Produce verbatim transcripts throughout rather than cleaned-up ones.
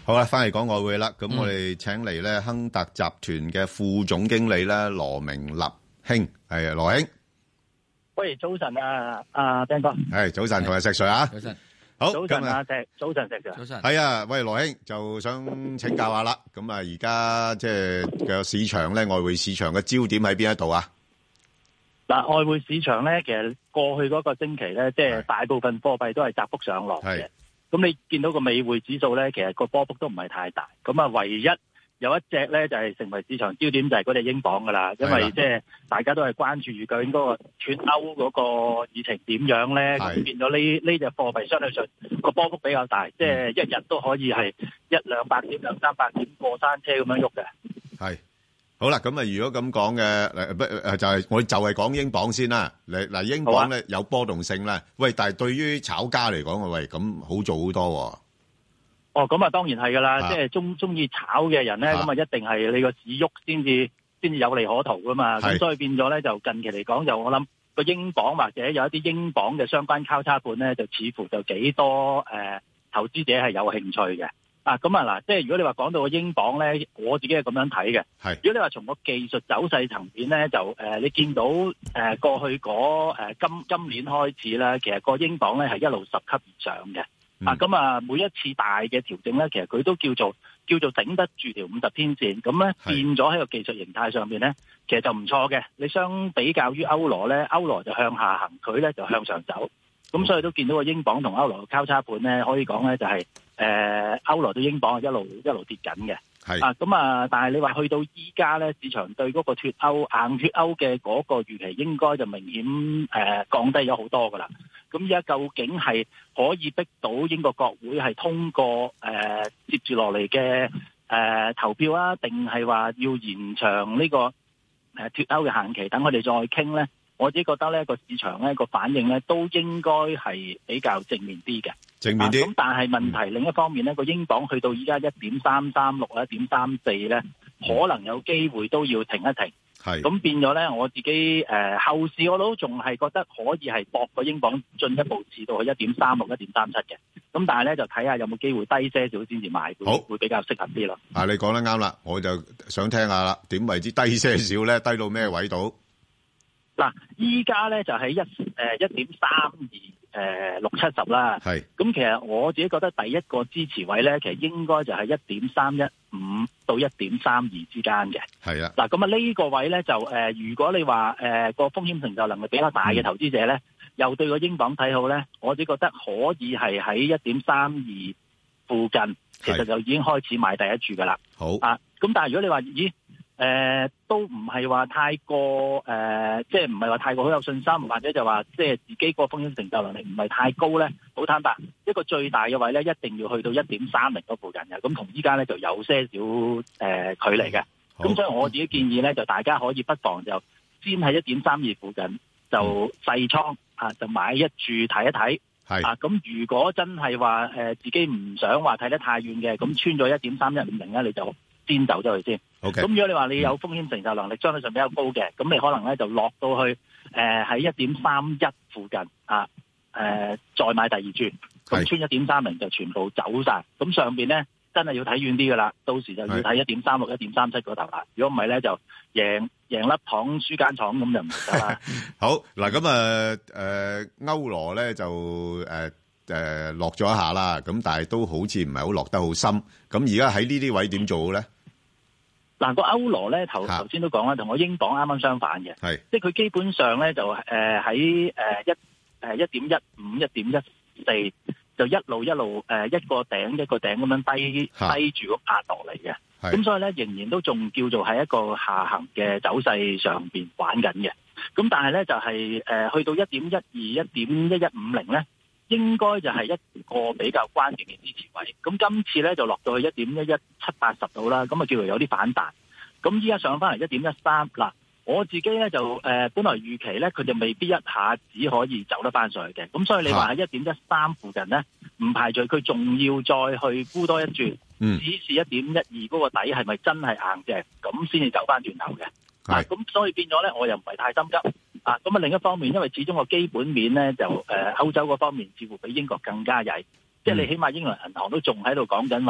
好啦，翻嚟講外匯啦。咁我哋請嚟咧亨達集團嘅副總經理咧羅明立兄，係羅兄。 喂，早晨啊，阿 Ben 哥。 係早晨，同埋石 Sir 啊。 早晨。 好， 早晨啊，石。早晨，石 Sir。 早晨。 係啊，喂，羅兄就想請教下啦。咁啊，而家即係嘅市場咧，外匯市場嘅焦點喺邊一度啊？ 嗱，外匯市場咧，其實過去嗰個星期咧，即係大部分貨幣都係窄幅上落嘅。咁你見到個美匯指數咧，其實個波幅都唔係太大。咁啊，唯一有一隻咧就係、是、成為市場焦點，就係嗰隻英鎊噶啦。因為即係大家都係關注住究竟嗰個脫歐嗰個議程點樣咧，咁變咗呢呢隻貨幣相對上個波幅比較大，即係一日都可以係一兩百點、兩三百點過山車咁樣喐嘅。 係。好啦，咁啊，如果咁講嘅，誒不誒就係我就係講英鎊先啦。嚟嗱，英鎊咧有波動性啦。喂，但係對於炒家嚟講，喂咁好做好多喎。 哦，咁啊，當然係噶啦，即係中中意炒嘅人咧，咁啊一定係你個市喐先至先至有利可圖噶嘛。咁所以變咗咧，就近期嚟講，就我諗個英鎊或者有一啲英鎊嘅相關交叉盤咧，就似乎就幾多誒、呃、投資者係有興趣嘅。啊，咁啊嗱，即係如果你話講到個英鎊咧，我自己係咁樣睇嘅。係，如果你話從個技術走勢層面咧，就誒、呃、你見到誒、呃、過去嗰誒、呃、今今年開始咧，其實個英鎊咧係一路十級以上嘅。嗯、啊，咁啊每一次大嘅調整咧，其實佢都叫做叫做頂得住條五十天線，咁咧變咗喺個技術形態上面咧，其實就唔錯嘅。你相比較於歐羅咧，歐羅就向下行，佢咧就向上走。咁所以都見到個英鎊同歐羅嘅交叉盤咧，可以講咧就係、是。誒、呃，歐羅對英鎊係一路一路跌緊嘅，係啊，咁啊，但係你話去到依家咧，市場對嗰個脫歐硬脫歐嘅嗰個預期，應該就明顯誒、呃、降低咗好多噶啦。咁依家究竟係可以逼到英國國會係通過誒、呃、接住落嚟嘅誒投票啊，定係話要延長呢個誒脫歐嘅限期，等佢哋再傾咧？我自己覺得咧，個市場咧個反應咧都應該係比較正面啲嘅，正面啲。咁、啊、但係問題、嗯、另一方面咧，個英鎊去到依家一點三三六啊，一點三四咧，可能有機會都要停一停。係咁變咗咧，我自己誒、呃、後市我都仲係覺得可以係搏個英鎊進一步至到去一點三六、一點三七嘅。咁但係咧就睇下有冇機會低些少先至買，好會比較適合啲咯。 啊，你講得啱啦，我就想聽下啦，點為之低些少咧？低到咩位度？ 嗱，依家咧就係一誒一點三二誒六七十啦。係，咁其實我自己覺得第一個支持位咧，其實應該就係一點三一五到一點三二之間嘅。係啊。嗱，咁啊呢個位咧就誒、呃，如果你話誒個風險承受能力比較大嘅投資者咧、嗯，又對個英鎊睇好咧，我自己覺得可以係喺一點三二附近，其實就已經開始買第一注噶啦。好。啊，咁但係如果你話咦？誒、呃，都唔係話太過誒、呃，即係唔係話太過好有信心，或者就話即係自己個風險承受能力唔係太高咧。好坦白，一個最大嘅位咧，一定要去到一點三零嗰附近嘅。咁同依家咧就有些少誒、呃、距離嘅。咁所以我自己建議咧，就大家可以不妨就先喺一點三二附近就細倉啊，就買一注睇一睇。係啊，咁如果真係話誒自己唔想話睇得太遠嘅，咁穿咗一點三一五零咧，你就先走咗去先。咁、okay. 如果你話你有風險承受能力相對上比較高嘅，咁你可能咧就落到去誒喺一點三一附近啊，誒、呃、再買第二注，咁穿一點三零就全部走晒。咁上邊咧真係要睇遠啲噶啦，到時就要睇一點三六、一點三七嗰頭啦。如果唔係咧，就贏贏粒糖輸間廠咁就唔得啦。 好嗱，咁啊誒歐羅咧就誒誒落咗一下啦，咁但係都好似唔係好落得好深。咁而家喺呢啲位點做咧？ 嗱、個歐羅咧，頭頭先都講啦，同我英鎊啱啱相反嘅，係即係佢基本上咧就誒喺誒一誒一點一五、一點一四，就一路一路誒、呃、一個頂一個頂咁樣低低住咁壓落嚟嘅，咁所以咧仍然都仲叫做喺一個下行嘅走勢上邊玩緊嘅，咁但係咧就係、是、誒、呃、去到一點一二、一點一一五零咧，應該就係一個比較關鍵嘅支持位，咁今次咧就落到去一點一一七八十度啦，咁啊叫做有啲反彈，咁依家上翻嚟一點一三，嗱我自己咧就誒、呃、本來預期咧佢就未必一下子可以走得翻上去嘅，咁所以你話喺一點一三附近咧，唔排除佢仲要再去沽多一轉，嗯，只是一點一二嗰個底係咪真係硬淨，咁先至走翻轉頭嘅，係，咁、啊、所以變咗咧我又唔係太心急。啊，咁啊另一方面，因為始終個基本面咧就誒、呃、歐洲嗰方面似乎比英國更加曳，即、嗯、係、就是、你起碼英倫銀行都仲喺度講緊話，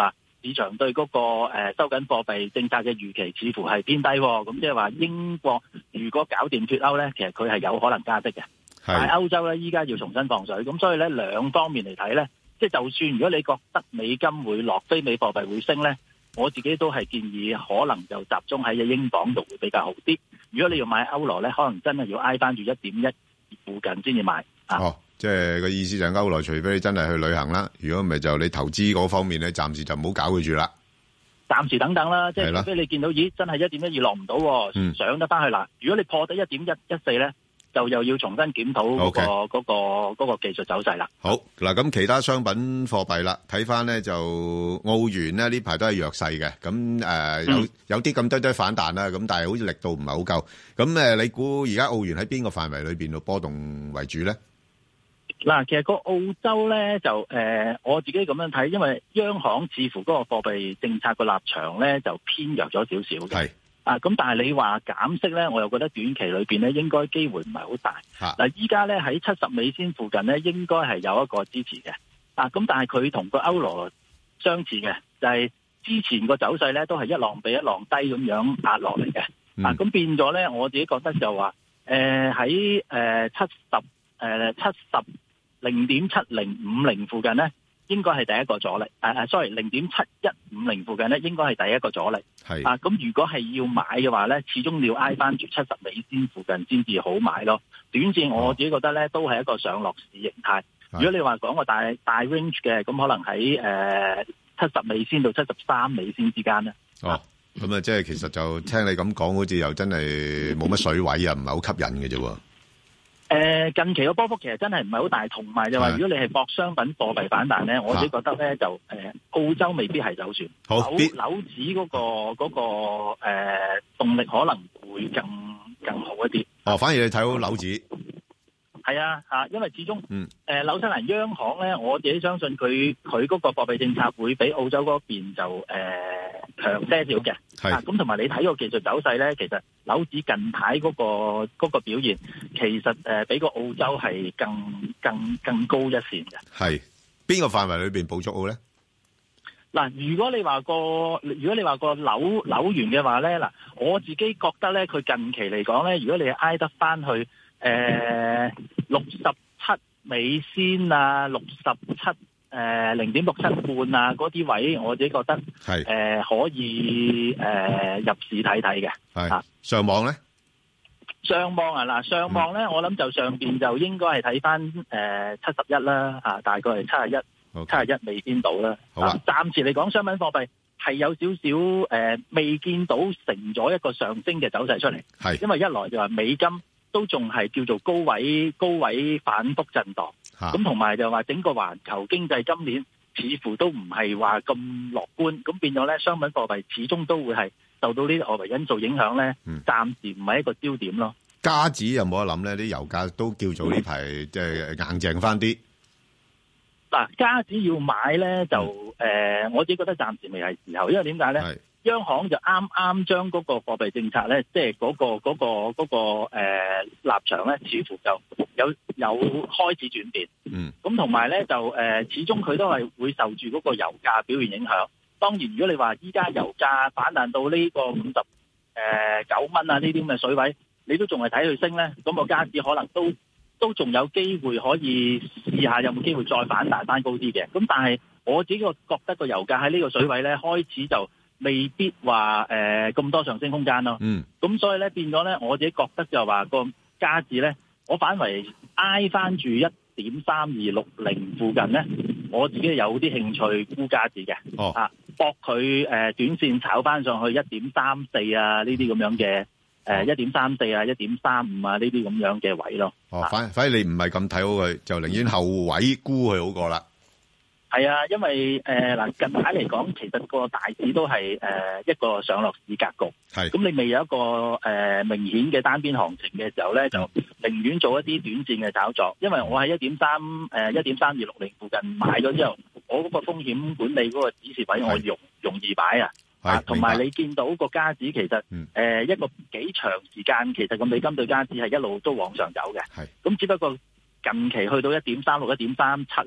市場對嗰、那個誒、呃、收緊貨幣政策嘅預期似乎係偏低，咁即係話英國如果搞掂脫歐咧，其實佢係有可能加息嘅。但係歐洲咧依家要重新放水，咁所以咧兩方面嚟睇咧，即係就算如果你覺得美金會落，非美貨幣會升咧，我自己都係建議可能就集中喺英鎊度會比較好啲。如果你要買歐羅咧，可能真係要挨翻住一點一附近先至買。 哦，即係個意思就係歐羅，除非你真係去旅行啦，如果唔係就你投資嗰方面咧，暫時就唔好搞佢住啦。 暫時等等啦，即係除非你見到咦真係一點一二落唔到，嗯、上得翻去啦。如果你破得一點一一四咧，就又要重新檢討嗰、嗰個嗰、okay. 嗰個嗰、嗰個技術走勢啦。 好嗱，咁其他商品貨幣啦，睇翻咧就澳元咧呢排都係弱勢嘅，咁誒、呃嗯、有有啲咁多多反彈啦，咁但係好似力度唔係好夠。咁誒，你估而家澳元喺邊個範圍裏邊度波動為主咧？ 嗱，其實個澳洲咧就誒、呃，我自己咁樣睇，因為央行似乎嗰個貨幣政策個立場咧就偏弱咗少少嘅。係啊，咁但係你話減息咧，我又覺得短期裏邊咧應該機會唔係好大。嗱，依家咧喺七十美仙附近咧，應該係有一個支持嘅。啊，咁但係佢同個歐羅相似嘅，就係、是、之前個走勢咧都係一浪比一浪低咁樣壓落嚟嘅。啊，咁變咗咧，我自己覺得就話誒喺誒七十誒七十零點七零五零附近咧，應該係第一個阻力。誒、啊、sorry， 零點七一五零附近咧，應該係第一個阻力。係啊，咁如果係要買嘅話咧，始終要挨翻住七十美仙附近先至好買咯。短線我自己覺得咧，都係一個上落市形態。如果你話講個大大 range 嘅，咁可能喺誒七十美仙到七十三美仙之間咧。 哦，咁啊，即係其實就聽你咁講，好似又真係冇乜水位啊，唔係好吸引嘅啫。 誒，近期個波幅其實真係唔係好大，同埋就話如果你係博商品貨幣反彈咧，我自己覺得咧就誒澳洲未必係走船， 好紐紐指嗰個嗰個誒動力可能會更更好一啲。 哦，反而你睇好紐指。 係啊，吓，因為始終，嗯，誒，紐西蘭央行咧，我自己相信佢佢嗰個貨幣政策會比澳洲嗰邊就誒強些少嘅，係，咁同埋你睇個技術走勢咧，其實紐指近排嗰個嗰個表現，其實誒比個澳洲係更更更高一線嘅。係邊個範圍裏邊捕捉好咧？ 嗱，如果你話個如果你話個紐紐元嘅話咧，嗱，我自己覺得咧，佢近期嚟講咧，如果你挨得翻去。誒，六十七美仙啊，六十七誒零點六七半啊，嗰啲位我自己覺得係誒、呃、可以誒、呃、入市睇睇嘅。係上網咧？ 上網啊，嗱，上網咧，我諗就上邊就應該係睇翻誒七十一啦，吓，大概係七十一，七十一未見到啦。好啊，暫時嚟講，商品貨幣係有少少誒未見到成咗一個上升嘅走勢出嚟。係，因為一來就話美金。都仲係叫做高位高位反覆震盪，咁同埋就話整個環球經濟今年似乎都唔係話咁樂觀，咁變咗咧商品貨幣始終都會係受到呢啲外圍因素影響咧，暫時唔係一個焦點咯。 加紙有冇得諗咧？啲油價都叫做呢排即係硬淨翻啲。 嗱，加紙要買咧就誒、嗯呃，我自己覺得暫時未係時候，因為點解咧？央行就啱啱將嗰個貨幣政策咧，即係嗰個嗰、嗰個嗰、嗰個誒、呃、立場咧，似乎就有有開始轉變。嗯，咁同埋咧就誒、呃，始終佢都係會受住嗰個油價表現影響。當然，如果你話依家油價反彈到呢個五十誒九蚊啊呢啲咁嘅水位，你都仲係睇佢升咧，咁、個加紙可能都都仲有機會可以試下有冇機會再反彈翻高啲嘅。咁但係我自己個覺得個油價喺呢個水位咧開始就未必話誒咁多上升空間咯。嗯，咁所以咧變咗咧，我自己覺得就話個加紙咧，我反為挨翻住一點三二六零附近咧，我自己有啲興趣沽加紙嘅。哦，啊，搏佢誒短線炒翻上去一點三四啊呢啲咁樣嘅誒一點三四啊一點三五啊呢啲咁樣嘅位咯。 哦，反反而你唔係咁睇好佢，就寧願後位沽佢好過啦。 係啊，因為誒嗱、呃、近排嚟講，其實個大市都係誒、呃、一個上落市格局。係，咁你未有一個誒、呃、明顯嘅單邊行情嘅時候咧，就寧願做一啲短線嘅炒作。因為我喺一點三誒一點三二六零附近買咗之後，我嗰個風險管理嗰個指示位我容容易擺啊。啊，同埋你見到個加指其實誒、嗯呃、一個幾長時間，其實個美金對加指係一路都往上走嘅。係，咁只不過近期去到一點三六、一點三七咧。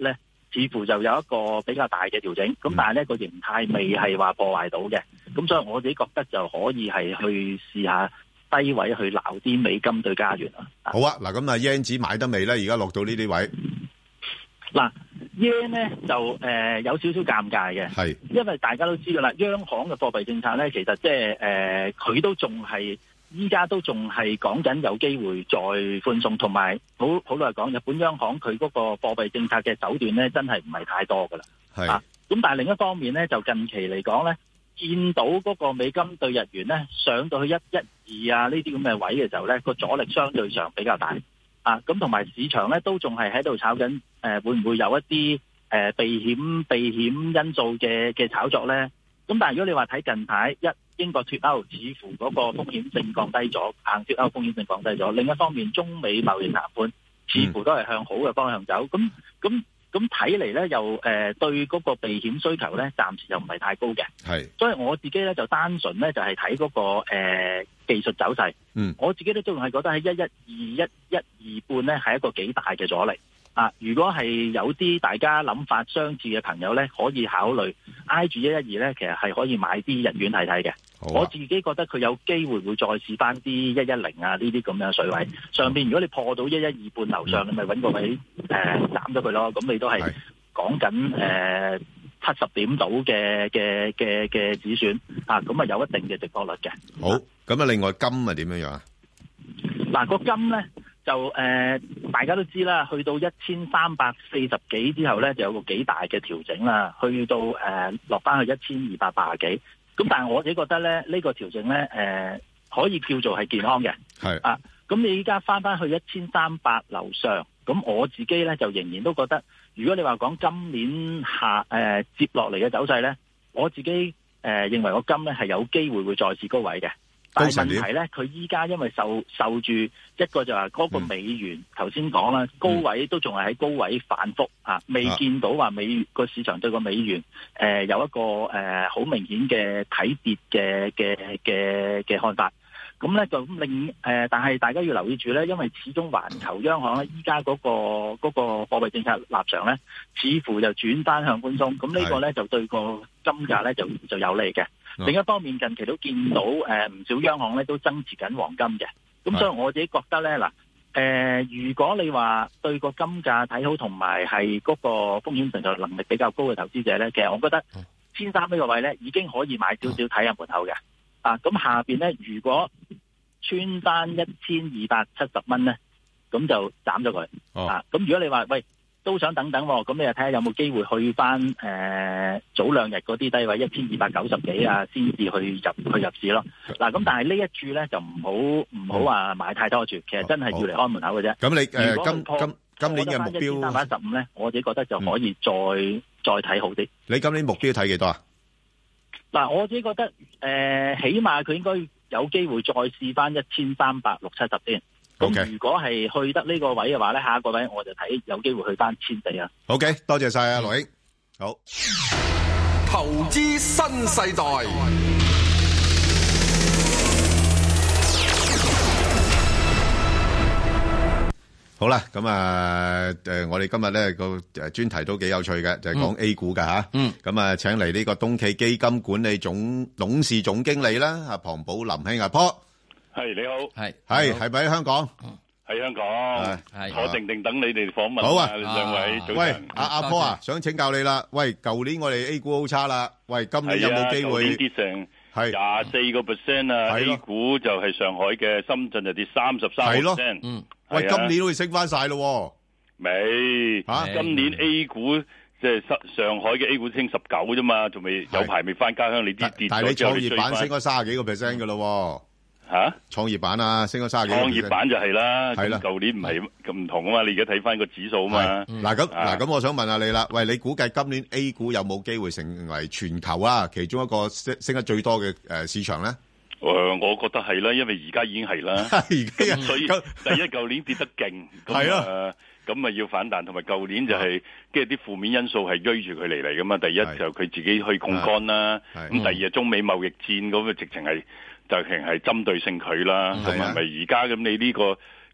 似乎就有一個比較大嘅調整。咁但係咧個形態未係話破壞到嘅。咁所以我自己覺得就可以係去試下低位去撈啲美金對加元啊。 好啊，嗱咁啊 yen 紙買得未咧？而家落到呢啲位。 嗱 yen 咧就誒、呃、有少少尷尬嘅，係因為大家都知道啦，央行嘅貨幣政策咧，其實即係誒佢都仲係依家都仲係講緊有機會再寬鬆，同埋好好老實講，日本央行佢嗰個貨幣政策嘅手段咧，真係唔係太多噶啦。係啊，咁但係另一方面咧，就近期嚟講咧，見到嗰個美金對日元咧上到去一一二啊呢啲咁嘅位嘅時候咧，個阻力相對上比較大。啊，咁同埋市場咧都仲係喺度炒緊，誒、呃、會唔會有一啲誒、呃、避險避險因素嘅嘅炒作咧？咁但係如果你話睇近排一英國脫歐，似乎嗰個風險性降低咗，硬脫歐風險性降低咗。另一方面，中美貿易談判似乎都係向好嘅方向走。咁咁咁睇嚟咧，又誒、呃、對嗰個避險需求咧，暫時又唔係太高嘅。係，所以我自己咧就單純咧就係睇嗰個誒、呃、技術走勢。嗯，我自己都仲係覺得喺一一二一一二半咧係一個幾大嘅阻力啊！如果係有啲大家諗法相似嘅朋友咧，可以考慮挨住一一二咧，其實係可以買啲日元睇睇嘅。我自己覺得佢有機會會再試翻啲一一零啊呢啲咁樣水位上邊。如果你破到一一二半樓上，你咪揾個位誒斬咗佢咯。咁你都係講緊誒七十點到嘅嘅嘅嘅止損啊，咁啊有一定嘅值博率嘅。 好，咁啊另外金係點樣樣啊？ 嗱、個金咧就誒、呃、大家都知啦，去到一千三百四十幾之後咧，就有個幾大嘅調整啦，去到誒、呃、落翻去一千二百八十幾。咁但係我自己覺得咧，呢、呢個調整咧誒、呃、可以叫做係健康嘅。係啊，咁你依家翻翻去一千三百樓上，咁我自己咧就仍然都覺得，如果你話講今年下誒、呃、接落嚟嘅走勢咧，我自己誒、呃、認為個金咧係有機會會再次高位嘅。但係問題咧，佢依家因為受受住一個就係嗰個美元，頭先講啦，高位都仲係喺高位反覆啊，未見到話美個市場對個美元誒、呃、有一個誒好、呃、明顯嘅睇跌嘅嘅嘅嘅看法。咁咧就令誒、呃，但係大家要留意住咧，因為始終環球央行咧依家嗰個嗰、嗰個貨幣政策立場咧，似乎就轉翻向寬鬆。咁呢個咧就對個金價咧就就有利嘅。另一方面，近期都見到誒唔、呃、少央行咧都增持緊黃金嘅，咁所以我自己覺得咧嗱誒，如果你話對個金價睇好，同埋係嗰個風險承受能力比較高嘅投資者咧，其實我覺得千三呢個位咧已經可以買少少睇下門口嘅啊。咁下邊咧如果穿翻一千二百七十蚊咧，咁就斬咗佢啊。咁如果你話喂，都想等等喎，咁你就睇下有冇機會去翻誒、呃、早兩日嗰啲低位一千二百九十幾啊，先至去入去入市咯。嗱，咁但係呢一注咧就唔好唔好話買太多注，其實真係要嚟開門口嘅啫。咁你誒今今今年嘅目標一千三百一十五咧，我自己覺得就可以再、嗯、再睇好啲。你今年目標睇幾多啊？嗱，我自己覺得誒、呃，起碼佢應該有機會再試翻一千三百六七十先。咁、okay. 如果係去得呢個位嘅話咧，下一個位我就睇有機會去翻千四啊。OK， 多謝晒啊，羅英。好， 投資新世代。 好啦，咁啊，誒，我哋今日咧個誒專題都幾有趣嘅，就係、是、講 A 股㗎吓。嗯。咁啊，請嚟呢個東企基金管理總董事總經理啦，阿龐寶林兄阿波。 係你好， 係係係咪喺香港？ 喺香港，係坐定定等你哋訪問。 好啊， 兩位早晨。 喂，阿阿波啊，想請教你啦。喂，舊年我哋 A 股好差啦。喂，今年有冇機會？舊年跌成係廿四個 percent 啊 ！A 股就係上海嘅，深圳就跌三十三 percent。嗯，喂，今年都會升翻晒咯。未吓？今年 A 股即係上海嘅 A 股升十九啫嘛，仲未有排未翻家鄉。你啲跌咗之後，但係你創業板升咗卅幾個 percent 噶咯。吓，創業板啊，升咗卅幾。創業板就係啦，係啦，舊年唔係咁唔同啊嘛，你而家睇翻個指數啊嘛。嗱咁嗱咁，我想問下你啦，喂，你估計今年 A 股有冇機會成為全球啊其中一個升升得最多嘅誒市場咧？誒，我覺得係啦，因為而家已經係啦，而家所以第一舊年跌得勁，係咯，咁咪要反彈，同埋舊年就係即係啲負面因素係追住佢嚟嚟噶嘛。第一就佢自己去槓桿啦，咁第二係中美貿易戰咁嘅直情係。就係係針對性佢啦，同埋咪而家咁你呢個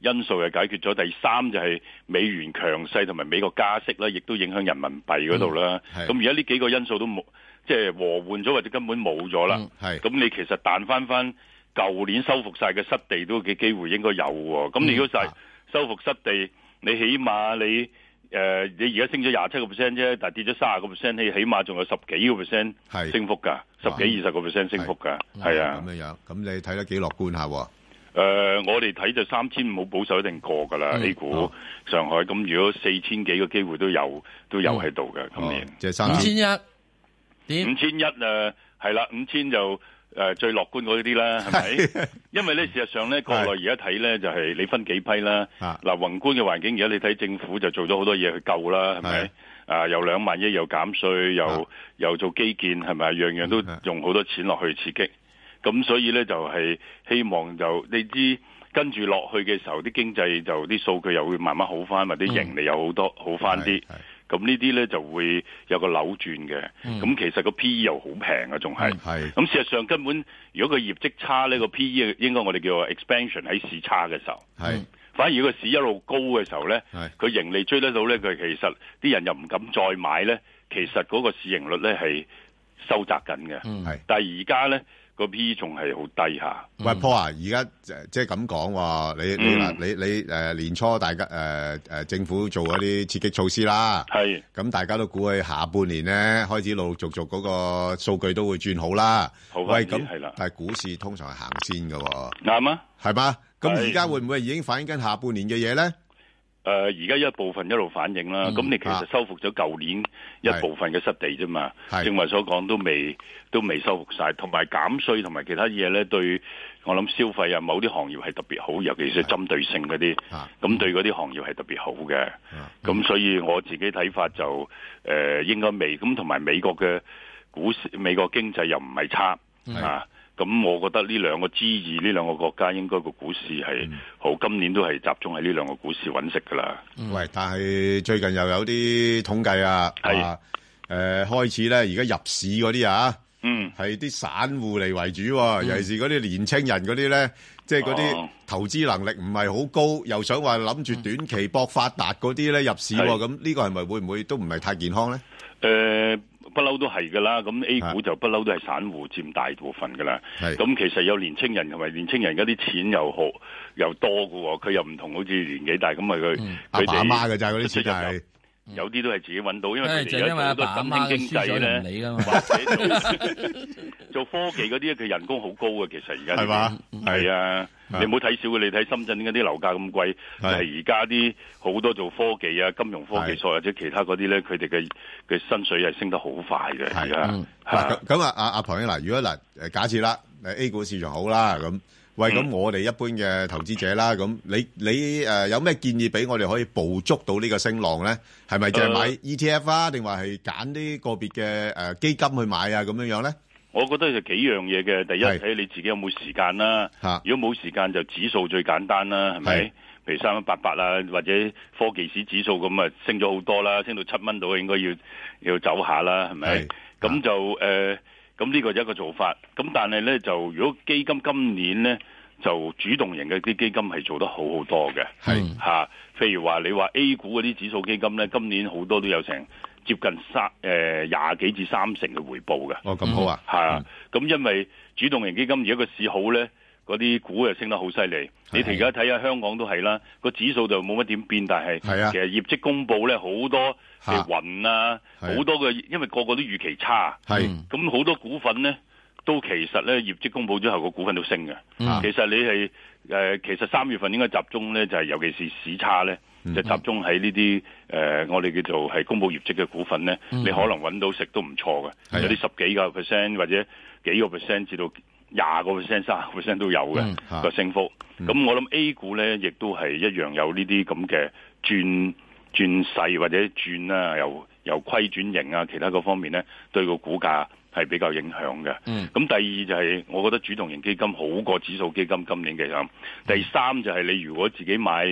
因素又解決咗，第三就係美元強勢同埋美國加息啦，亦都影響人民幣嗰度啦。咁而家呢幾個因素都冇，即係和緩咗或者根本冇咗啦。咁、嗯、你其實彈翻翻舊年收復晒嘅失地都嘅機會應該有喎。咁、嗯、你如果就係收復失地，你起碼你誒、呃、你而家升咗廿七個 percent 啫，但係跌咗三十個 percent，你起碼仲有十幾個 percent 升幅㗎，十幾二十個 percent 升幅㗎，係啊。咁樣樣，咁你睇得幾樂觀下喎？ 誒、呃，我哋睇就三千五好保守一定過㗎啦、嗯、，A 股、哦、上海咁，如果四千幾個機會都有都有喺度嘅今年。 即係三千一， 五千一誒係啦，五千就誒、呃、最樂觀嗰啲啦，係咪？因為咧事實上咧，國內而家睇咧就係、是、你分幾批啦。嗱、啊，宏觀嘅環境而家你睇政府就做咗好多嘢去救啦，係咪？啊，又兩萬億又減稅，又、啊、又做基建，係咪？樣樣都用好多錢落去刺激。咁所以咧就係、是、希望就你知跟住落去嘅時候，啲經濟就啲數據又會慢慢好翻，或者盈利有好多、嗯、好翻啲。咁呢啲咧就會有個扭轉嘅。咁、嗯、其實個 P E 又好平啊，仲係。咁事實上根本如果個業績差呢，個 P E 應該我哋叫做 expansion 喺市差嘅時候。係。反而如果個市一路高嘅時候咧，佢盈利追得到咧，佢其實啲人又唔敢再買咧。其實嗰個市盈率咧係收窄緊嘅。係。但係而家咧。個 P E 仲係好低下。 喂 Paul 啊，而家即係咁講喎，你你嗱、嗯、你你誒、呃、年初大家誒誒、呃、政府做嗰啲刺激措施啦，係咁大家都估佢下半年咧開始陸陸續續嗰個數據都會轉好啦。好喂，咁係啦，但係股市通常係行先㗎喎。啱啊，係嘛？咁而家會唔會已經反映緊下半年嘅嘢咧？ 誒而家一部分一路反映啦，咁、嗯、你其實收復咗舊年一部分嘅失地啫嘛，正話所講都未都未收復晒，同埋減稅同埋其他嘢咧，對我諗消費啊某啲行業係特別好，尤其是針對性嗰啲，咁對嗰啲行業係特別好嘅，咁所以我自己睇法就誒、呃、應該未，咁同埋美國嘅股市、美國經濟又唔係差啊。咁我覺得呢兩個 G 二呢兩個國家應該個股市係好、嗯，今年都係集中喺呢兩個股市揾食噶啦。 喂，但係最近又有啲統計啊，係誒、呃、開始咧，而家入市嗰啲啊，嗯，係啲散戶嚟為主、啊嗯，尤其是嗰啲年青人嗰啲咧，即係嗰啲投資能力唔係好高，又想話諗住短期搏發達嗰啲咧入市、啊，咁呢個係咪會唔會都唔係太健康咧？ 誒、呃。不嬲都係噶啦，咁 A 股就不嬲都係散戶佔大部分噶啦。咁其實有年青人同埋年青人嗰啲錢又好又多噶喎，佢又唔同好似年紀大咁啊佢佢哋阿爸阿媽嘅咋嗰啲錢係。有啲都係自己揾到，因為佢哋而家好多新興經濟咧，或者做科技嗰啲，佢人工好高嘅。其實而家係嘛，係啊，你唔好睇少嘅。你睇深圳點解啲樓價咁貴？係而家啲好多做科技啊、金融科技所或者其他嗰啲咧，佢哋嘅嘅薪水係升得好快嘅。係啊， 咁啊，阿阿龐兄嗱，如果嗱誒假設啦，誒 A 股市場好啦咁。喂，咁我哋一般嘅投資者啦，咁你你誒、呃、有咩建議俾我哋可以捕捉到呢個升浪咧？係咪就係買 E T F 啊，定話係揀啲個別嘅誒基金去買啊？咁樣樣咧？ 我覺得就幾樣嘢嘅。第一睇你自己有冇時間啦。如果冇時間就指數最簡單啦，係咪？譬如三一八八啊，或者科技指指數咁啊，升咗好多啦，升到七蚊度應該要要走下啦，係咪？咁就誒。呃咁呢個就一個做法，咁但係咧就如果基金今年咧就主動型嘅啲基金係做得好好多嘅，係嚇。譬如話你話 A 股嗰啲指數基金咧，今年好多都有成接近三誒廿幾至三成嘅回報嘅。 哦，咁好啊， 係啊。咁、嗯、因為主動型基金而家個市好咧，嗰啲股又升得好犀利。你而家睇下香港都係啦，個指數就冇乜點變，但係其實業績公佈咧好多嘅雲啊，好多嘅，因為個個都預期差，咁好多股份咧都其實咧業績公佈之後個股份都升嘅、嗯。其實你係誒、呃，其實三月份應該集中咧，就係、是、尤其是市差咧、嗯，就集中喺呢啲誒，我哋叫做係公佈業績嘅股份咧、嗯，你可能揾到食都唔錯嘅，有啲十幾個 percent 或者幾個 percent 至到廿個 percent、三十個 percent 都有嘅個、嗯、升幅。咁、嗯、我諗 A 股咧，亦都係一樣有呢啲咁嘅轉轉勢或者轉啊，由由虧轉型啊，其他嗰方面咧，對個股價係比較影響嘅。咁、嗯、第二就係我覺得主動型基金好過指數基金今年嘅咁。第三就係你如果自己買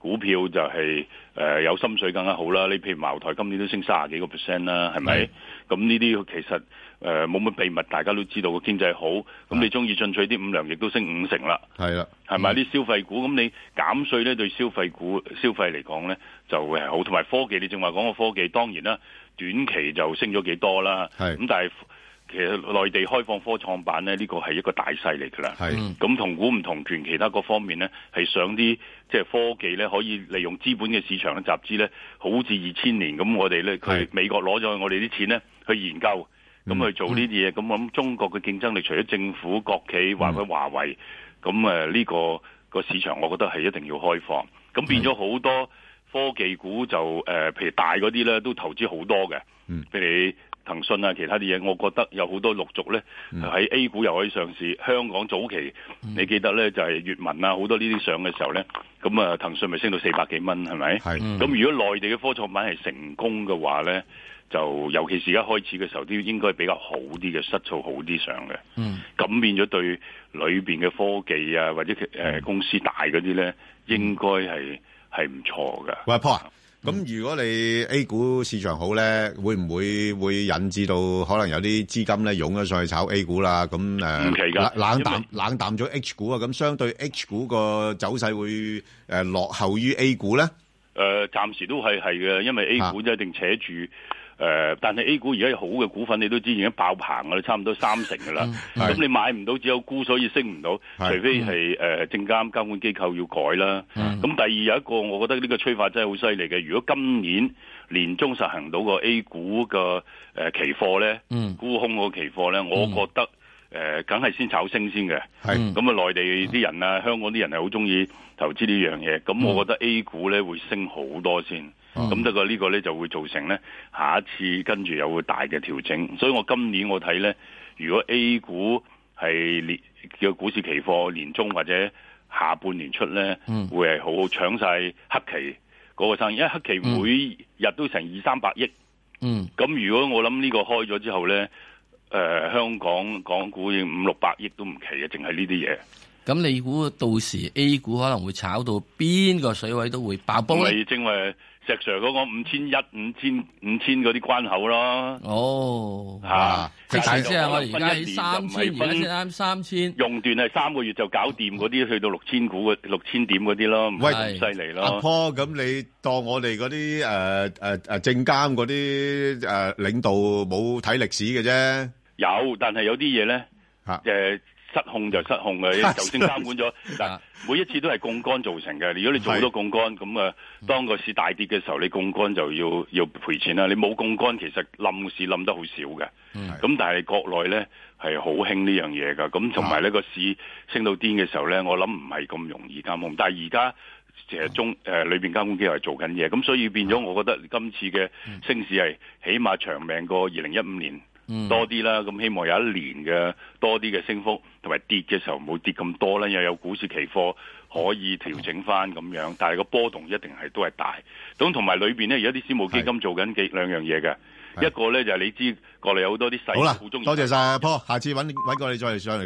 股票就係、是、誒、呃、有心水更加好啦。你譬如茅台今年都升三十幾個 percent 啦，係咪？咁呢啲其實誒冇乜秘密，大家都知道個經濟好。咁你中意進取啲，五糧液都升五成啦。係啦，係咪啲消費股？咁你減稅咧對消費股消費嚟講咧就會係好，同埋科技你正話講個科技，當然啦，短期就升咗幾多啦。係咁，但係。其實內地開放科創板咧，呢個係一個大勢嚟㗎啦。係咁同股唔同權，其他各方面咧係想啲即係科技咧可以利用資本嘅市場嘅集資咧，好似二千年咁，我哋咧佢美國攞咗我哋啲錢咧去研究，咁、嗯、去做呢啲嘢。咁、嗯、我諗中國嘅競爭力，除咗政府、國企或者華為，咁誒呢個個市場，我覺得係一定要開放。咁變咗好多科技股就誒、呃，譬如大嗰啲咧都投資好多嘅。嗯，譬如騰訊啊，其他啲嘢，我覺得有好多陸續咧喺 A 股又可以上市。香港早期、嗯、你記得咧就係、是、粵文啊，好多呢啲上嘅時候咧，咁啊騰訊咪升到四百幾蚊，係咪？係。咁、嗯、如果內地嘅科創板係成功嘅話咧，就尤其是而家開始嘅時候，都應該比較好啲嘅，質素好啲上嘅。嗯。咁變咗對裏邊嘅科技啊，或者誒、呃、公司大嗰啲咧，應該係係唔錯嘅。 喂，Paul。咁如果你 A 股市場好咧，會唔會會引致到可能有啲資金咧湧咗上去炒 A 股啦？咁誒， 唔奇㗎， 冷淡冷淡咗 H 股啊，咁相對 H 股個走勢會誒落後於 A 股咧？ 誒，暫時都係係嘅，因為 A 股一定扯住。誒、呃，但係 A 股而家有好嘅股份，你都知已經爆棚㗎啦，差唔多三成㗎啦。咁、嗯、你買唔到，只有沽，所以升唔到。除非係誒、呃、證監監管機構要改啦。咁、嗯、第二有一個，我覺得呢個催化真係好犀利嘅。如果今年年中實行到個 A 股嘅誒、呃、期貨咧，嗯、沽空個期貨咧，我覺得誒梗係先炒升先嘅。咁啊，內地啲人啊，香港啲人係好中意投資呢樣嘢。咁我覺得 A 股咧會升好多先。咁不過呢個咧就會造成咧下一次跟住有個大嘅調整，所以我今年我睇咧，如果 A 股係年叫股市期貨年中或者下半年出咧、嗯，會係好好搶晒黑期嗰個生意，因為黑期每日都成二三百億。嗯，咁如果我諗呢個開咗之後咧，誒、呃、香港港股已經五六百億都唔奇嘅，淨係呢啲嘢。 咁你估到時 A 股可能會炒到邊個水位都會爆煲咧？ 咪正話石 Sir 嗰個五千一、五千、五千嗰啲關口咯。 哦， 嚇、啊！ 即係即係我而家喺三千，而家先啱三千。 用段係三個月就搞掂嗰啲，去到六千股嘅六千點嗰啲咯，唔係咁犀利咯。阿 Paul，咁你當我哋嗰啲誒誒誒證監嗰啲誒領導冇睇歷史嘅啫？ 有，但係有啲嘢咧嚇誒。失控就失控嘅，就算監管咗，嗱每一次都係槓桿造成嘅。如果你做好多槓桿，咁啊，當個市大跌嘅時候，你槓桿就要要賠錢啦。你冇槓桿，其實冧市冧得好少嘅。咁、嗯、但係國內咧係好興呢樣嘢㗎。咁同埋呢個市升到癲嘅時候咧，我諗唔係咁容易監控。但係而家其實中誒裏邊監管機構係做緊嘢，咁所以變咗，我覺得今次嘅升市係起碼長命過二零一五年。多啲啦，咁希望有一年嘅多啲嘅升幅，同埋跌嘅時候唔會跌咁多啦，又有股市期貨可以調整翻咁樣，但係個波動一定係都係大。咁同埋裏邊咧，而家啲私募基金做緊幾兩樣嘢嘅，一個咧就係、是、你知國內有好多啲細股中意。好啦，多謝晒阿 Paul，下次揾揾過你再嚟上嚟。